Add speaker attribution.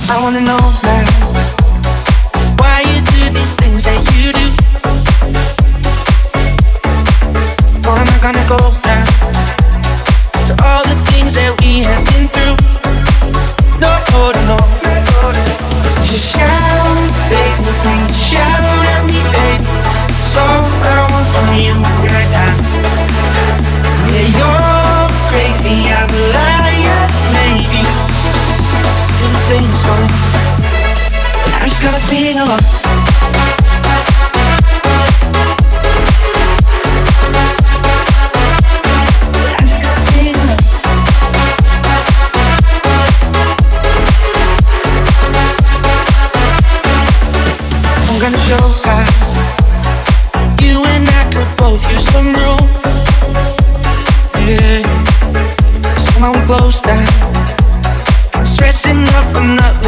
Speaker 1: I wanna know now why you do these things that you do. Oh, I'm not gonna go now to all the things that we have been through. No, no, no. Just shout, baby, shout at me, baby. It's all I want from you right now. Yeah, you're crazy, I'm a liar, maybe. Still the same song. I just gotta sing along. I'm gonna show how you and I could both use some room. Yeah, somehow we close down. Stressing enough, I'm not